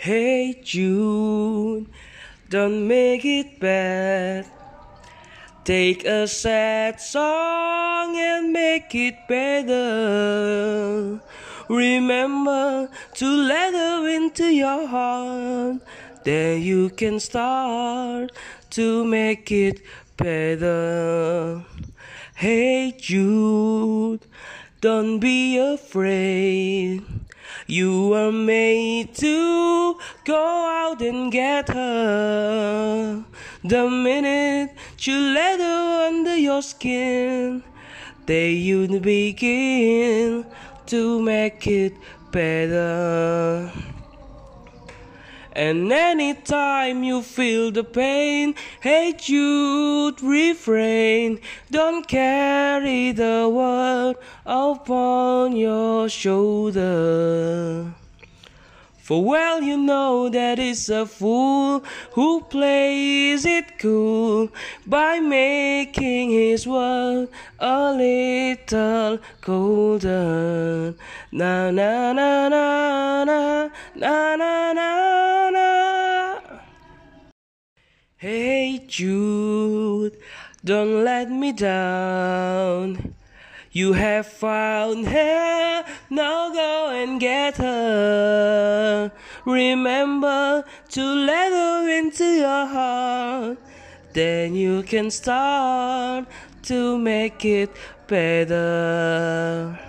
Hey Jude, don't make it bad. Take a sad song and make it better. Remember to let her into your heart. Then you can start to make it better. Hey Jude, don't be afraid. You are made to go out and get her. The minute you let her under your skin, then you begin to make it better. And anytime you feel the pain, hey Jude, refrain. Don't carry the world upon your shoulder. For well you know that it's a fool who plays it cool by making his world a little colder. Na na na na na na na na na. Hey Jude, don't let me down. You have found her, now go and get her. Remember to let her into your heart. Then you can start to make it better.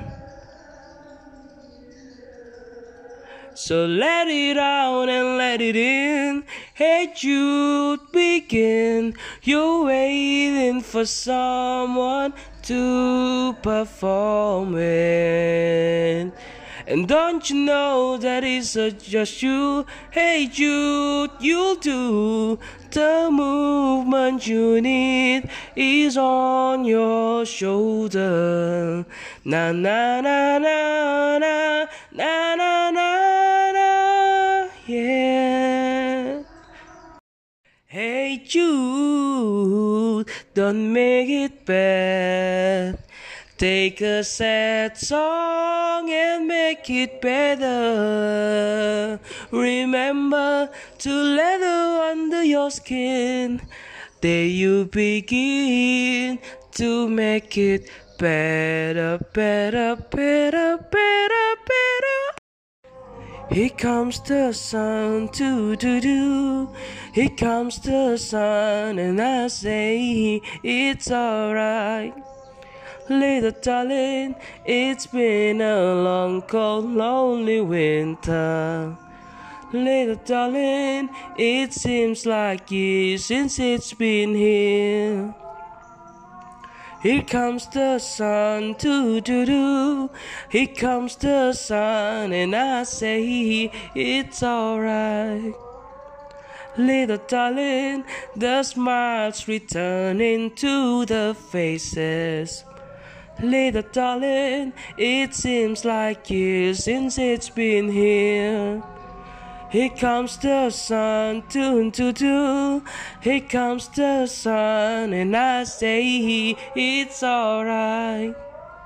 So let it out and let it in. Hey Jude, begin. You're waiting for someone to perform it. And don't you know that it's just you? Hey Jude, you'll do. The movement you need is on your shoulder. Na na na na na na na na, yeah. Hey Jude, don't make it bad. Take a sad song and make it better. Remember to let her under your skin. Then you begin to make it better, better, better, better, better. Here comes the sun, do. Here comes the sun, and I say it's alright. Little darling, it's been a long, cold, lonely winter. Little darling, it seems like years since it's been here. Here comes the sun, do. Here comes the sun, and I say it's alright. Little darling, the smiles returning to the faces. Little darling, it seems like years since it's been here. Here comes the sun, do. Here comes the sun, and I say it's alright.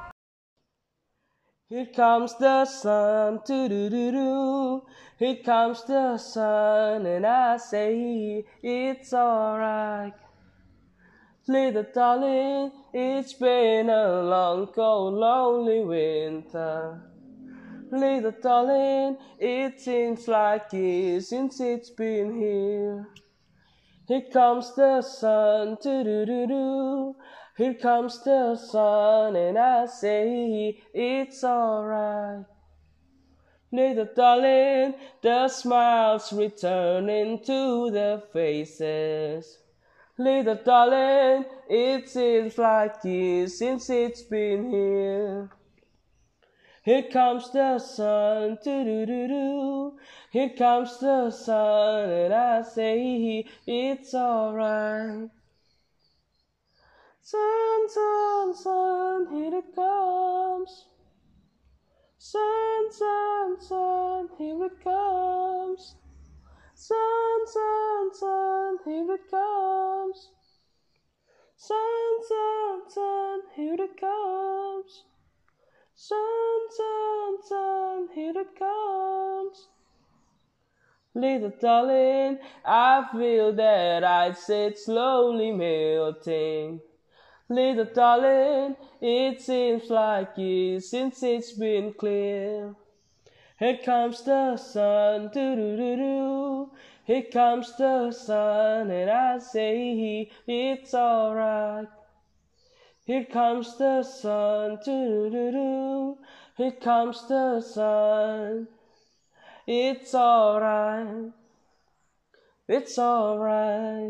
Here comes the sun, do. Here comes the sun, and I say it's alright. Little darling, it's been a long, cold, lonely winter. Little darling, it seems like years since it's been here. Here comes the sun, do. Here comes the sun, and I say it's alright. Little darling, the smiles returning to the faces. Little darling, it seems like years since it's been here. Here comes the sun, do. Here comes the sun, and I say it's alright. Sun, sun, sun, here it comes. Sun, sun, sun, here it comes. Sun, sun, sun, here it comes. Sun, sun, sun, here it comes. Sun, sun, sun, here it comes. Little darling, I feel that it's slowly melting. Little darling, it seems like years since it's been clear. Here comes the sun, doo-doo-doo-doo. Here comes the sun, and I say it's alright. Here comes the sun, doo-doo-doo-doo. Here comes the sun. It's alright. It's alright.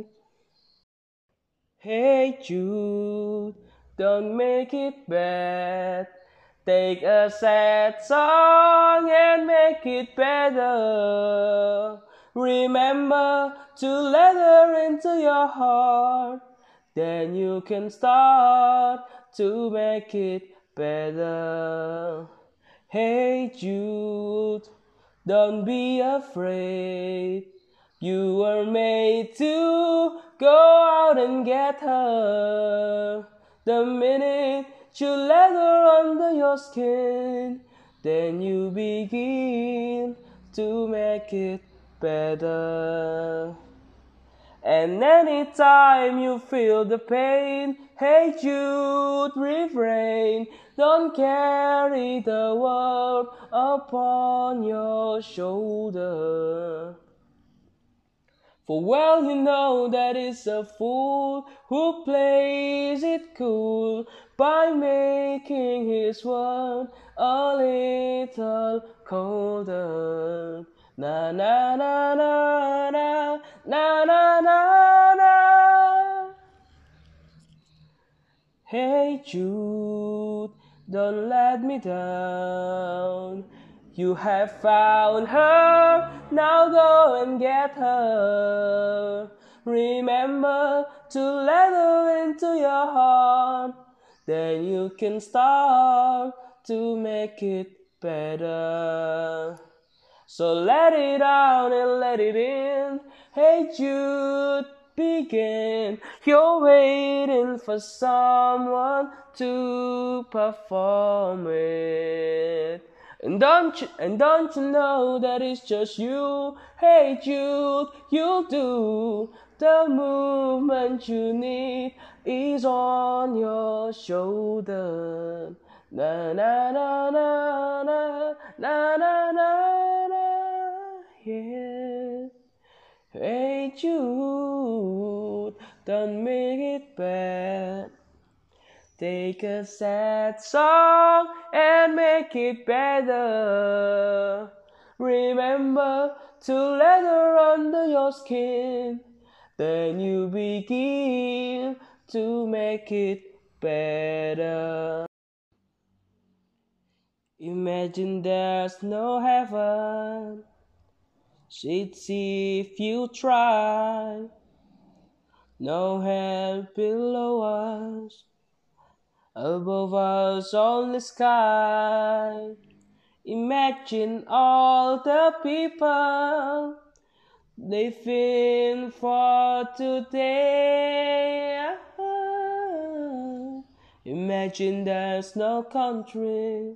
Hey Jude, don't make it bad. Take a sad song and make it better. Remember to let her into your heart. Then you can start to make it better. Hey Jude, don't be afraid. You were made to go out and get her. The minute you let her under your skin, then you begin to make it better. And anytime you feel the pain, hey Jude, refrain. Don't carry the world upon your shoulder. For well you know that it's a fool who plays it cool by making his world a little colder. Na na na na na na na na na. Hey Jude, don't let me down. You have found her, now go and get her. Remember to let her into your heart. Then you can start to make it better. So let it out and let it in. Hey Jude, begin. You're waiting for someone to perform it. And don't you know that it's just you? Hey Jude, you'll do. The movement you need is on your shoulder. Na na na na na na na na na, yeah. Hey Jude, don't make it bad. Take a sad song and make it better. Remember to let her under your skin. Then you begin to make it better. Imagine there's no heaven. She'd see if you try. No hell below us. Above us only sky. Imagine all the people living for today. Imagine there's no country.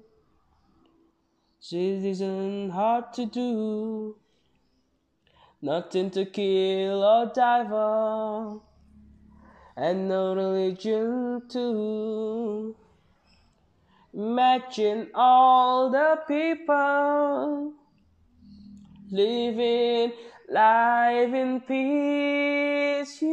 It isn't hard to do. Nothing to kill or die for. And no religion too. Imagine all the people living life in peace.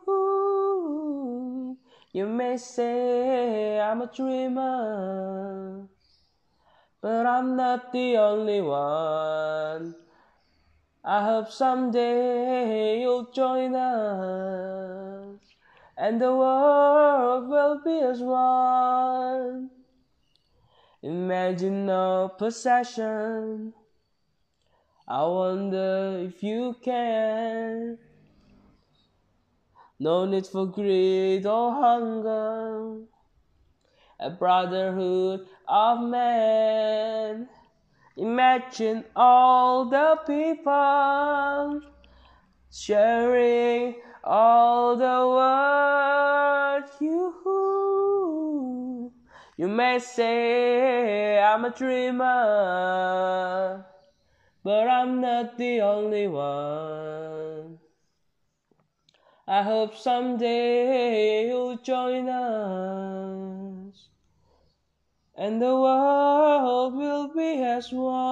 You may say I'm a dreamer, but I'm not the only one. I hope someday you'll join us, and the world will be as one. Imagine no possession. I wonder if you can. No need for greed or hunger. A brotherhood of men. Imagine all the people sharing all the world. You may say I'm a dreamer, but I'm not the only one. I hope someday you'll join us, and the world will be as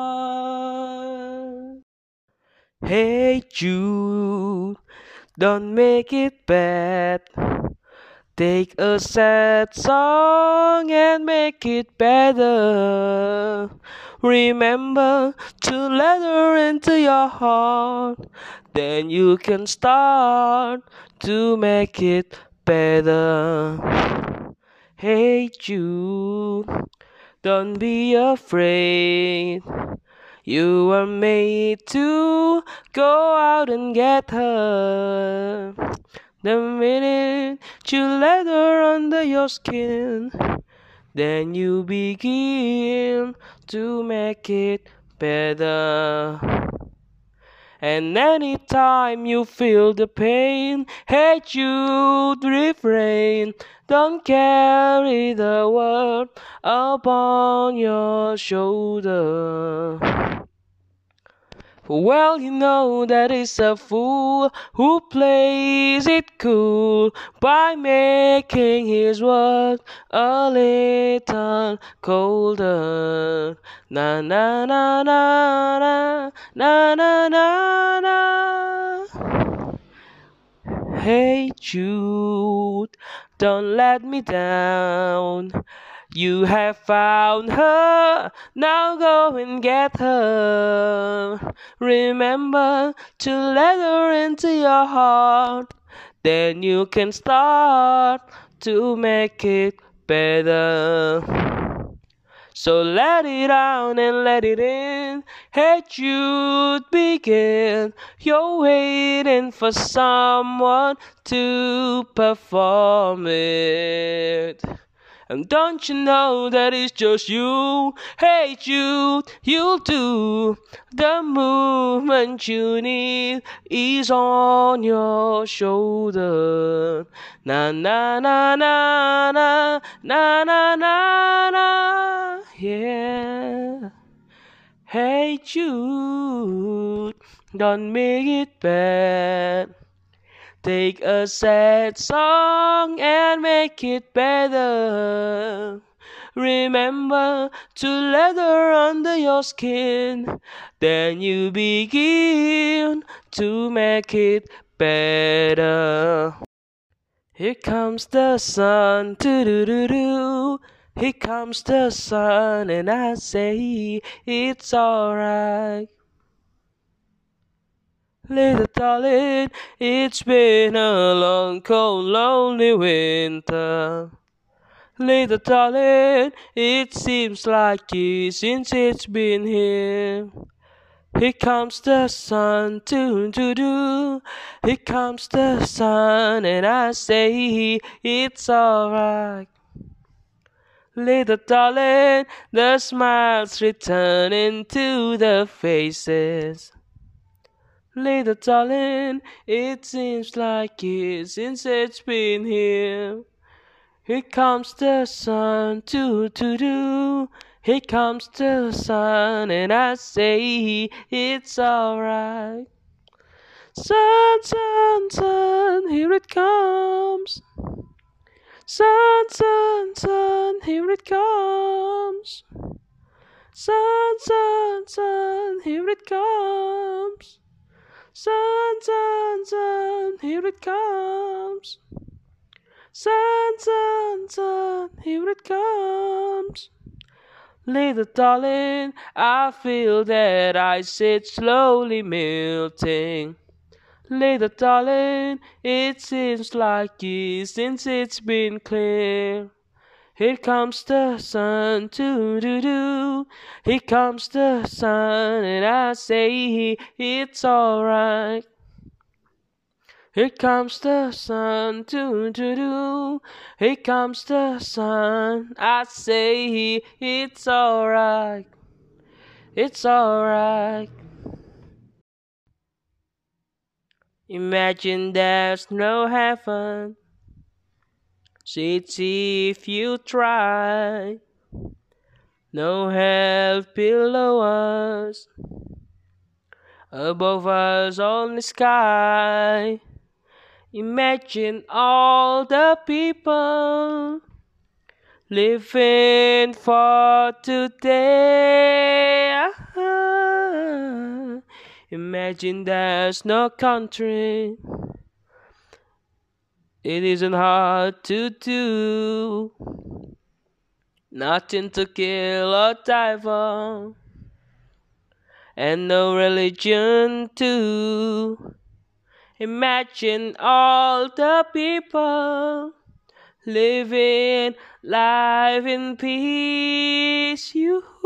one. Hey Jude, don't make it bad. Take a sad song and make it better. Remember to let her into your heart. Then you can start to make it better. Hey Jude, don't be afraid. You were made to go out and get her. The minute you let her under your skin, then you begin to make it better. And anytime you feel the pain, hey Jude, refrain. Don't carry the world upon your shoulder. Well, you know that is a fool who plays it cool by making his world a little colder. Na na na na na na na na na. Hey Jude, don't let me down. You have found her, now go and get her. Remember to let her into your heart, then you can start to make it better. So let it out and let it in. Hey Jude, begin. You're waiting for someone to perform it. And don't you know that it's just you? Hey Jude, you'll do. The movement you need is on your shoulder. Na na na na na na na na na. Yeah. Hey Jude, don't make it bad. Take a sad song and make it better. Remember to let her under your skin. Then you begin to make it better. Here comes the sun, doo-doo-doo-doo. Here comes the sun, and I say it's alright. Little darling, it's been a long, cold, lonely winter. Little darling, it seems like years since it's been here. Here comes the sun, doo-doo-doo. Here comes the sun, and I say it's alright. Little darling, the smiles returning to the faces. Little darling, it seems like years since it's been here. Here comes the sun, doo-doo-doo. Here comes the sun, and I say it's alright. Sun, sun, sun, here it comes. Sun, sun, sun, here it comes. Sun, sun, sun, here it comes. Sun, sun, sun, here it comes. Sun, sun, sun, here it comes. Little darling, I feel that ice is slowly melting. Little darling, it seems like years since it's been clear. Here comes the sun, doo-doo-doo. Here comes the sun, and I say it's alright. Here comes the sun, doo-doo-doo. Here comes the sun, I say it's alright. It's alright. Imagine there's no heaven. See if you try. No hell below us. above us on the sky. Imagine all the people living for today. Imagine there's no country. It isn't hard to do. Nothing to kill or die for, and no religion too. Imagine all the people living life in peace.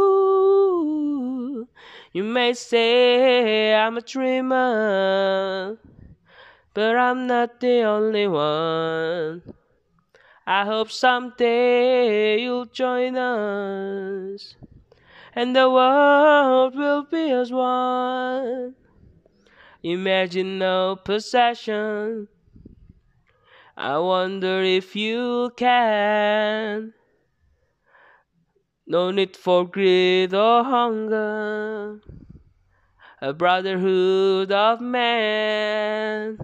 You may say I'm a dreamer, but I'm not the only one. I hope someday you'll join us, and the world will be as one. Imagine no possession. I wonder if you can. No need for greed or hunger. A brotherhood of man.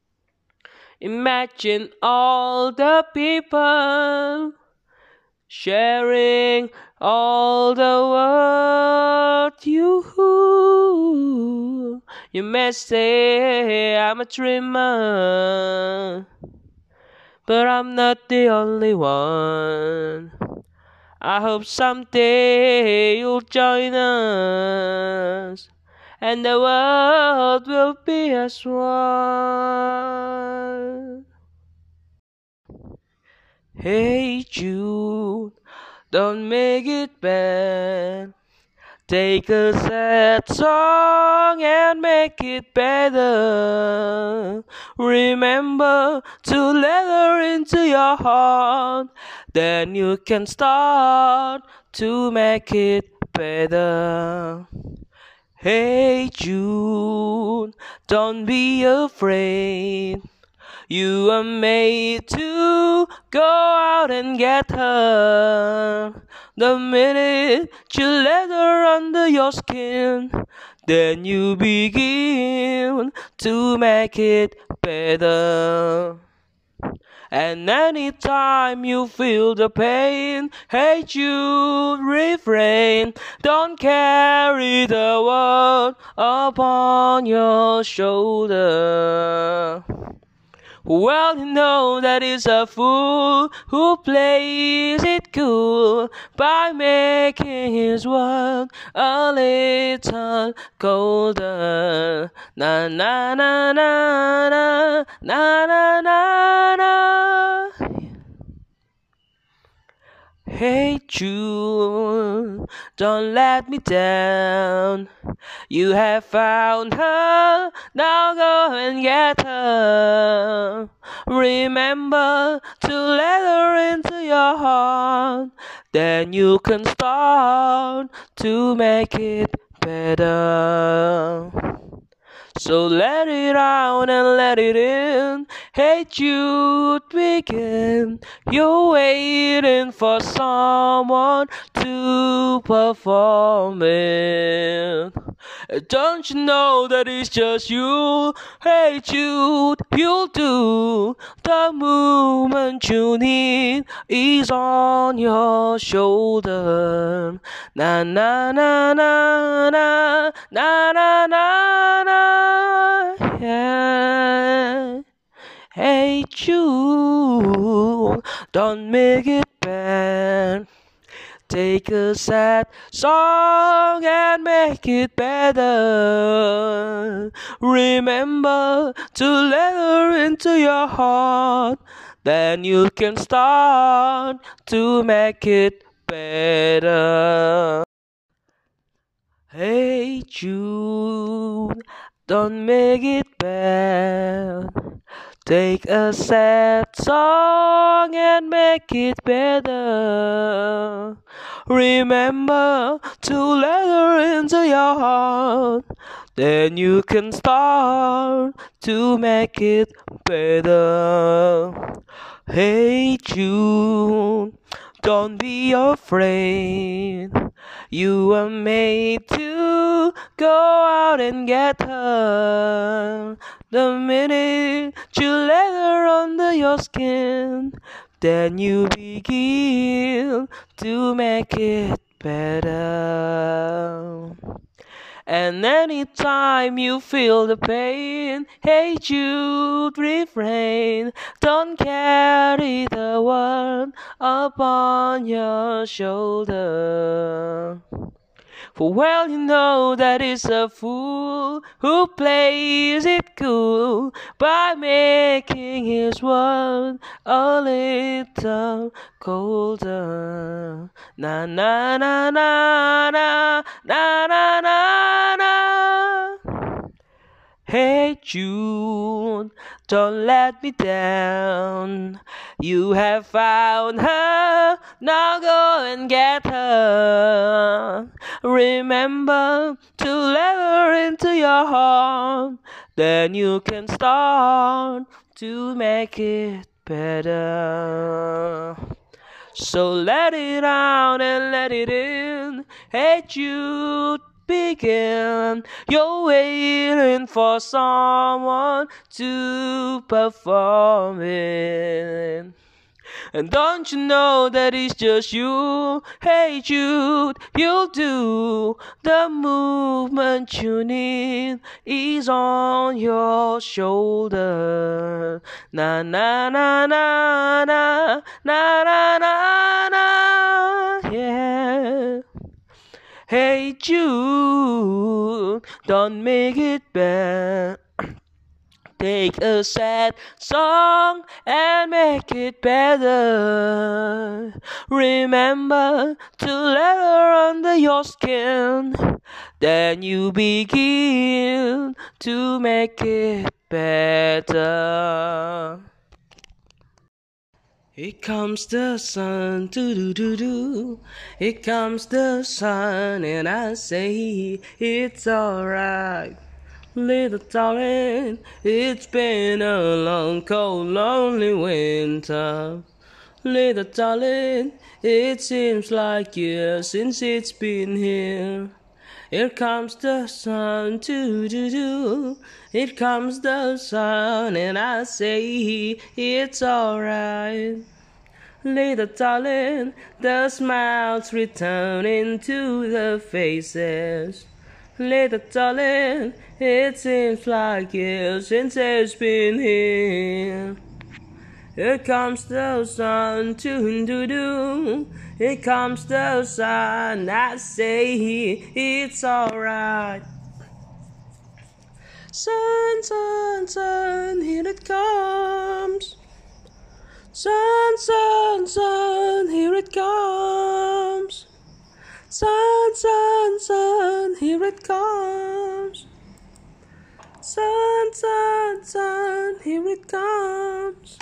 Imagine all the people sharing all the world. You may say I'm a dreamer, but I'm not the only one. I hope someday you'll join us, and the world will be as one. Hey Jude, don't make it bad. Take a sad song and make it better. Remember to let her into your heart. Then you can start to make it better. Hey Jude, don't be afraid. You are made to go out and get her. The minute you let her under your skin, then you begin to make it better. And anytime you feel the pain, hey Jude, refrain. Don't carry the world upon your shoulder. Well, you know that is a fool who plays it cool by making his world a little colder. Na na na na na na na na na. Hey Jude, don't let me down. You have found her, now go and get her. Remember to let her into your heart. Then you can start to make it better. So let it out and let it in. Hey Jude, begin. You're waiting for someone to perform it. Don't you know that it's just you? Hey Jude, you'll do. The movement you need is on your shoulder. Na na na na na na na na na. Yeah. Hey Jude, don't make it bad. Take a sad song and make it better. Remember to let her into your heart. Then you can start to make it better. Hey Jude, don't make it bad. Take a sad song and make it better. Remember to let her into your heart. Then you can start to make it better. Hey Jude, Don't be afraid. You were made to go out and get her. The minute you let her under your skin, then you begin to make it better. And anytime you feel the pain, hey Jude, refrain. Don't carry the one upon your shoulder. For well you know that it's a fool who plays it cool by making his world a little colder. Na na na na na na na na na. Hey June, don't let me down. You have found her, now go and get her. Remember to let her into your heart, then you can start to make it better. So let it out and let it in. Hey Jude, begin. You're waiting for someone to perform it. And don't you know that it's just you? Hey Jude, you'll do the movement you need is on your shoulder. Na na na na na na na na na, yeah. Hey Jude, don't make it bad. Take a sad song and make it better. Remember to let her under your skin, then you begin to make it better. Here comes the sun, doo-doo-doo-doo. Here comes the sun, and I say it's alright. Little darling, it's been a long, cold, lonely winter. Little darling, it seems like years since it's been here. Here comes the sun, doo-doo-doo. Here comes the sun, and I say it's alright. Little darling, the smiles returning to the faces. Little darling, it seems like years since it's been here. Here comes the sun, doo-doo-doo. Here comes the sun, I say it's alright. Sun, sun, sun, here it comes. Sun, sun, sun, here it comes. Sun, sun, sun, here it comes. Sun, sun, sun, here it comes.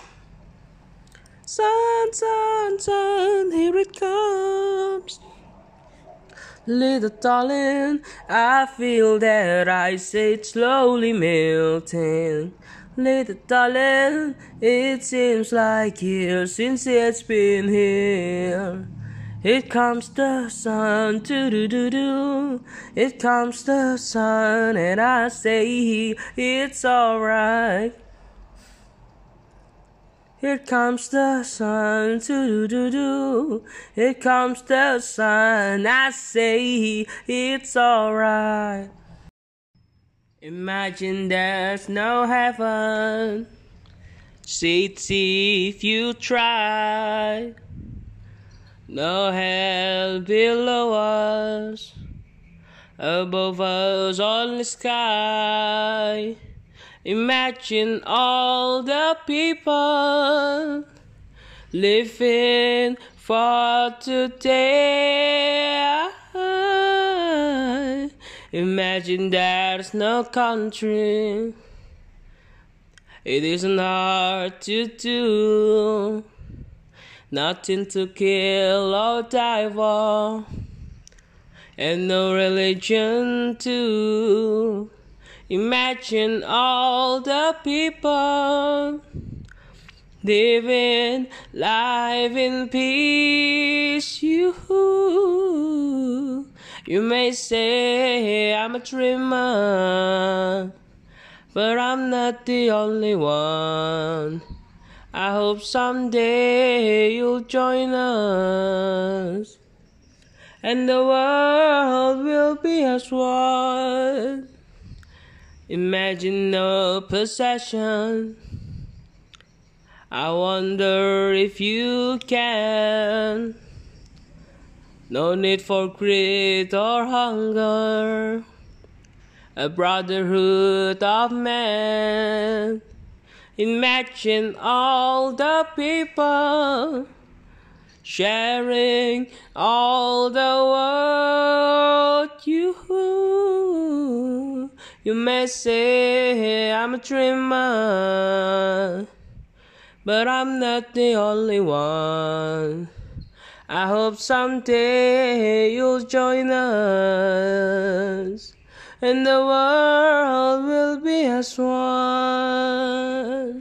Sun, sun, sun, here it comes. Little darling, I feel that ice age slowly melting. Little darling, it seems like years since it's been here. Here comes the sun, doo-doo-doo-doo. Here comes the sun, and I say it's alright. Here comes the sun, doo-doo-doo-doo. Here comes the sun, I say it's alright. Imagine there's no heaven. See if you try. No hell below us. Above us only sky. Imagine all the people living for today. Imagine there's no country. It isn't hard to do. Nothing to kill or die for. And no religion too. Imagine all the people living life in peace. You may say I'm a dreamer, but I'm not the only one. I hope someday you'll join us, and the world will be as one. Imagine no possession. I wonder if you can. No need for greed or hunger. A brotherhood of men. Imagine all the people sharing all the world. You may say I'm a dreamer, but I'm not the only one. I hope someday you'll join us, and the world will be as one.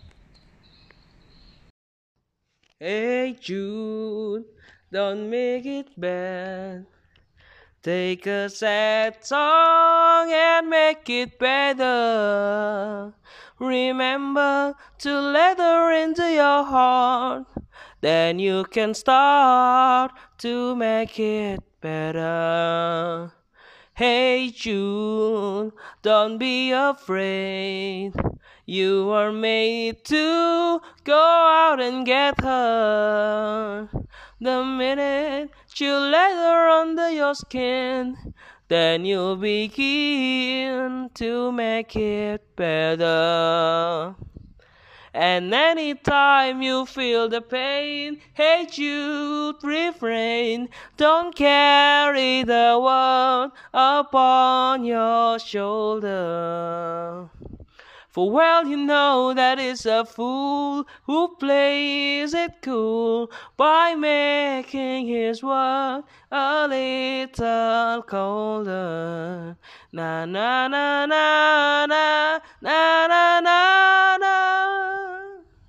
Hey Jude, don't make it bad. Take a sad song and make it better. Remember to let her into your heart. Then you can start to make it better. Hey June, don't be afraid. You are made to go out and get her. The minute you let her under your skin, then you'll begin to make it better. And anytime you feel the pain, hey Jude, refrain. Don't carry the world upon your shoulder. For well you know that it's a fool who plays it cool by making his world a little colder. Na na na na na na na na na.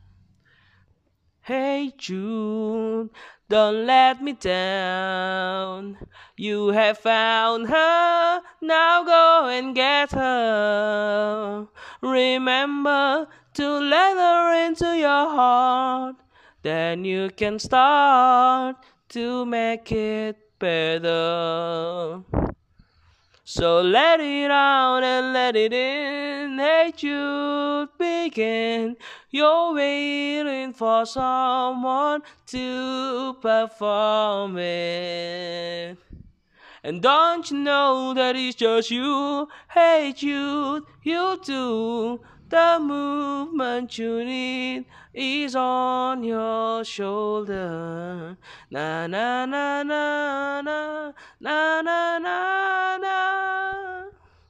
Hey June, don't let me down. You have found her, now go and get her. Remember to let her into your heart. Then you can start to make it better. So let it out and let it in. Hey Jude, begin. You're waiting for someone to perform it. And don't you know that it's just you? Hey Jude, you do. The movement you need is on your shoulder. Na na na na na na na na na.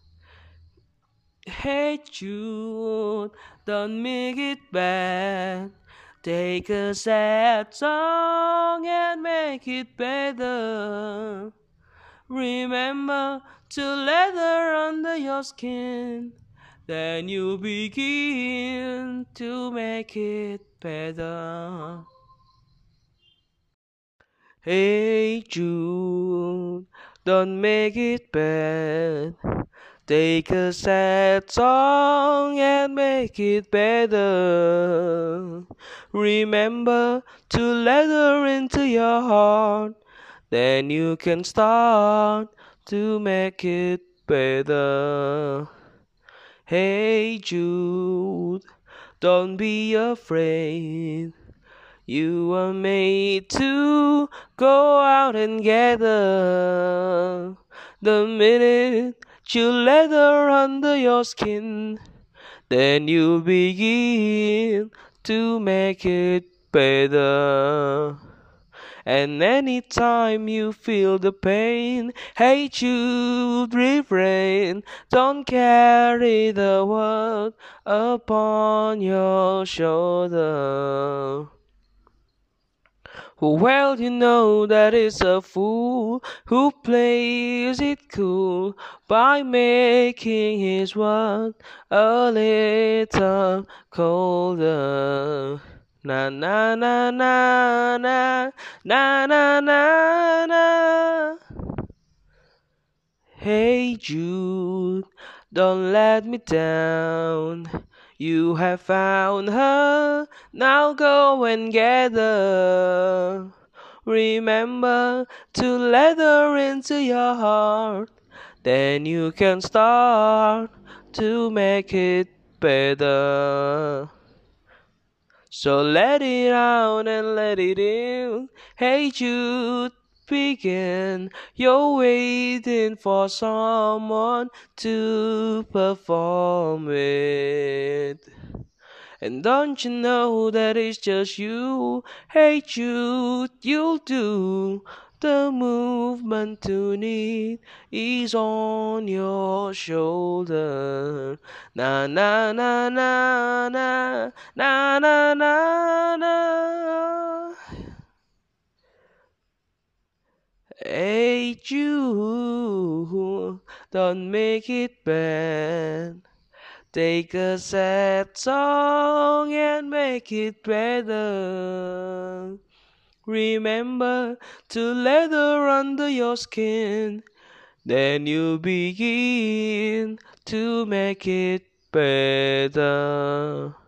Hey Jude, don't make it bad. Take a sad song and make it better. Remember to let her under your skin. Then you begin to make it better. Hey Jude, don't make it bad. Take a sad song and make it better. Remember to let her into your heart. Then you can start to make it better. Hey Jude, don't be afraid. You are made to go out and get her. The minute you let her under your skin, then you begin to make it better. And anytime you feel the pain, hey Jude, refrain. Don't carry the world upon your shoulder. Well, you know that it's a fool who plays it cool by making his world a little colder. Na na na na na na na na na. Hey Jude, don't let me down. You have found her, now go and get her. Remember to let her into your heart, then you can start to make it better. So let it out and let it in. Hey Jude, begin. You're waiting for someone to perform it. And don't you know that it's just you? Hey Jude, you'll do. The movement to need is on your shoulder. Na na na na na na na na na. Hey Jude, don't make it bad. Take a sad song and make it better. Remember to let her under your skin, then you begin to make it better.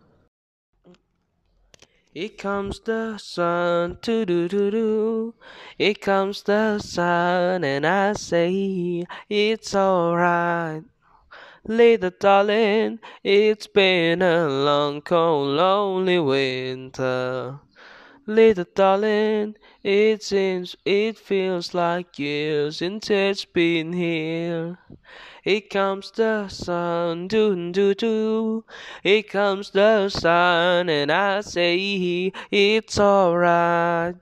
Here comes the sun, do do do do. Here comes the sun, and I say it's alright. Little darling, it's been a long, cold, lonely winter. Little darling, it feels like years since it's been here. Here comes the sun, doo doo doo. Here comes the sun, and I say it's alright.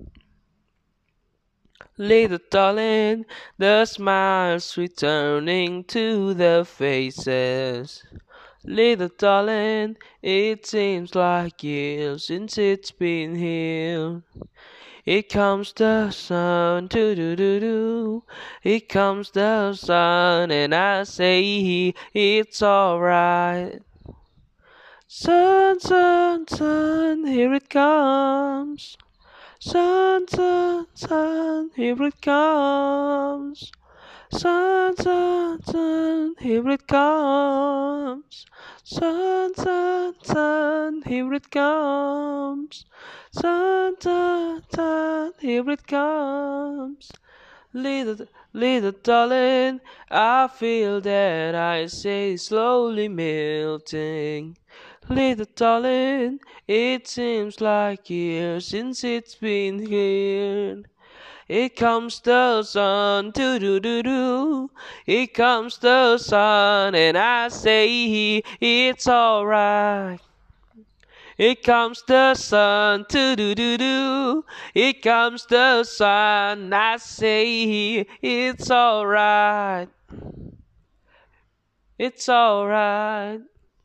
Little darling, the smiles returning to the faces. Little darling, it seems like years since it's been here. Here comes the sun, doo doo doo doo. Here comes the sun, and I say it's alright. Sun, sun, sun, here it comes. Sun, sun, sun, here it comes. Sun, sun, sun, here it comes. Sun, sun, sun, here it comes. Sun, sun, sun, here it comes. Little darling, I feel that I say slowly melting. Little darling, it seems like years since it's been here. Here comes the sun, doo doo doo doo. Here comes the sun, and I say it's alright. Here comes the sun, doo doo doo doo. Here comes the sun, I say it's alright. It's alright.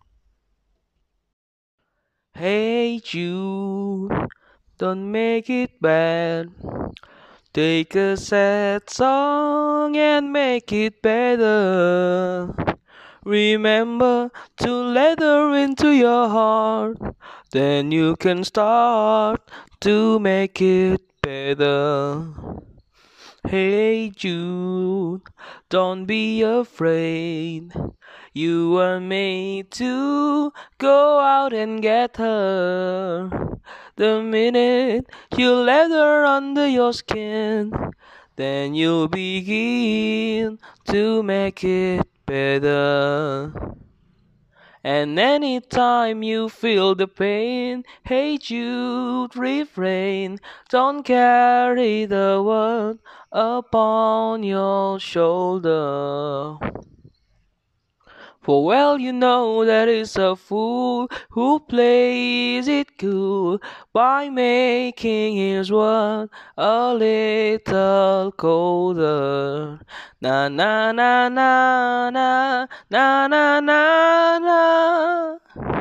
Hey Jude, don't make it bad. Take a sad song and make it better. Remember to let her into your heart, then you can start to make it better. Hey Jude, don't be afraid. You were made to go out and get her. The minute you let her under your skin, then you'll begin to make it better. And anytime you feel the pain, hey Jude, refrain. Don't carry the world upon your shoulder. For well you know that is a fool who plays it cool by making his world a little colder. Na na na na na na na na na.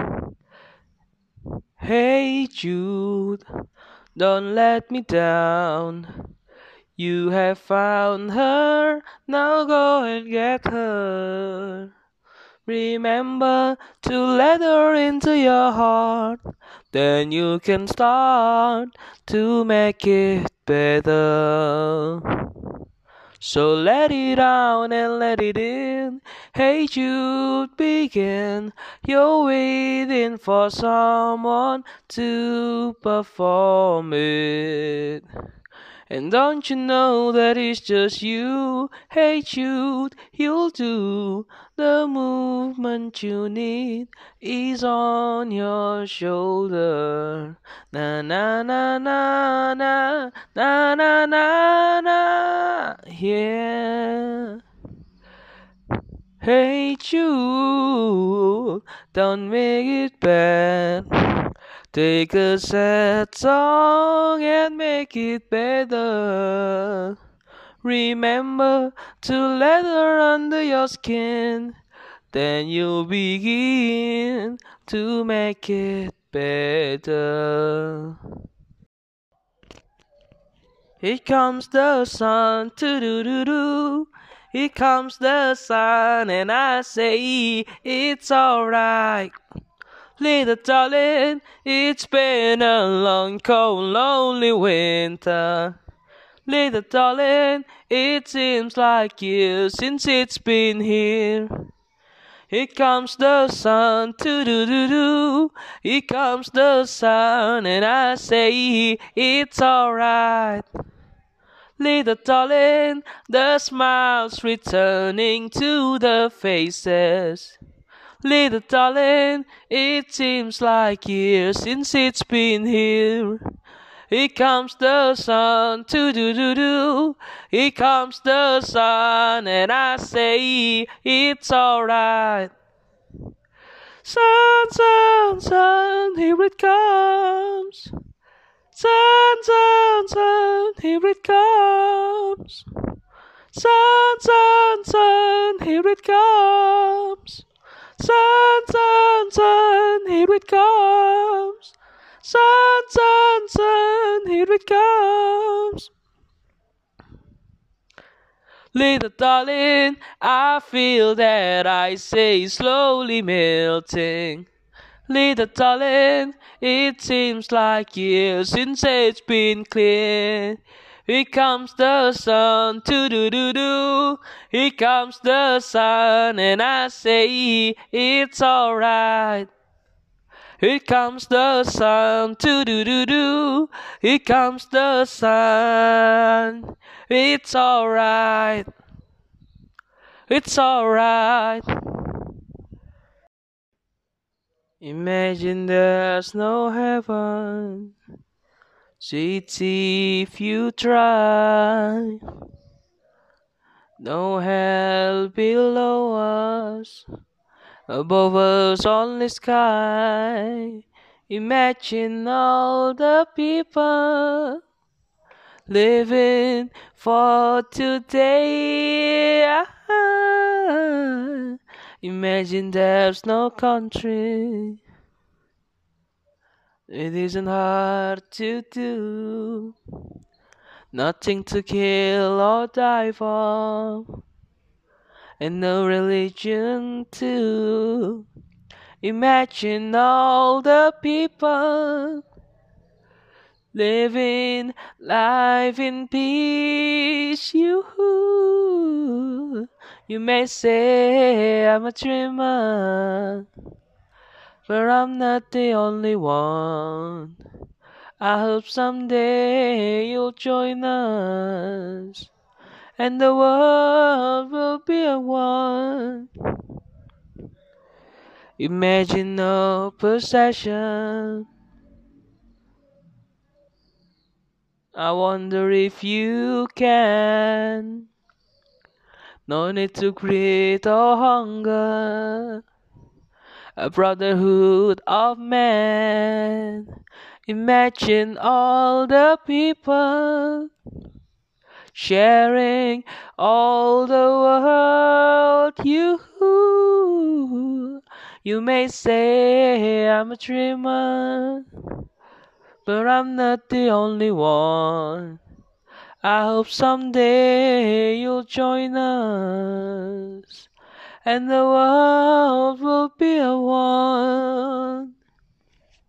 Hey Jude, don't let me down. You have found her, now go and get her. Remember to let her into your heart. Then you can start to make it better. So let it out and let it in. Hey Jude, begin. You're waiting for someone to perform it. And don't you know that it's just you? Hey Jude, you'll do. The movement you need is on your shoulder. Na na na na na na na na na. Yeah. Hey Jude, don't make it bad. Take a sad song and make it better. Remember to let her under your skin. Then you'll begin to make it better. Here comes the sun, do-do-do-do. Here comes the sun, and I say it's alright. Little darling, it's been a long, cold, lonely winter. Little darling, it seems like years since it's been here. Here comes the sun, do-do-do-do. Here comes the sun, and I say it's alright. Little darling, the smiles returning to the faces. Little darling, it seems like years since it's been here. Here comes the sun, do-do-do-do. Here comes the sun, and I say it's alright. Sun, sun, sun, here it comes. Sun, sun, sun, here it comes. Sun, sun, sun, here it comes. Sun, sun, sun, here it comes. Sun, sun, sun, here it comes. Little darling, I feel that I say slowly melting. Little darling, it seems like years since it's been clear. Here comes the sun, do-do-do-do. Here comes the sun, and I say it's alright. Here comes the sun, do-do-do-do. Here comes the sun. It's alright. It's alright. Imagine there's no heaven. Sweetie, if you try. No hell below us. Above us only sky. Imagine all the people living for today. Imagine there's no country. It isn't hard to do. Nothing to kill or die for. And no religion too. Imagine all the people living life in peace. You may say I'm a dreamer, but I'm not the only one. I hope someday you'll join us, and the world will be a one. Imagine no possession. I wonder if you can. No need to greed or hunger. A brotherhood of men. Imagine all the people sharing all the world. You may say I'm a dreamer, but I'm not the only one. I hope someday you'll join us, and the world will be a one.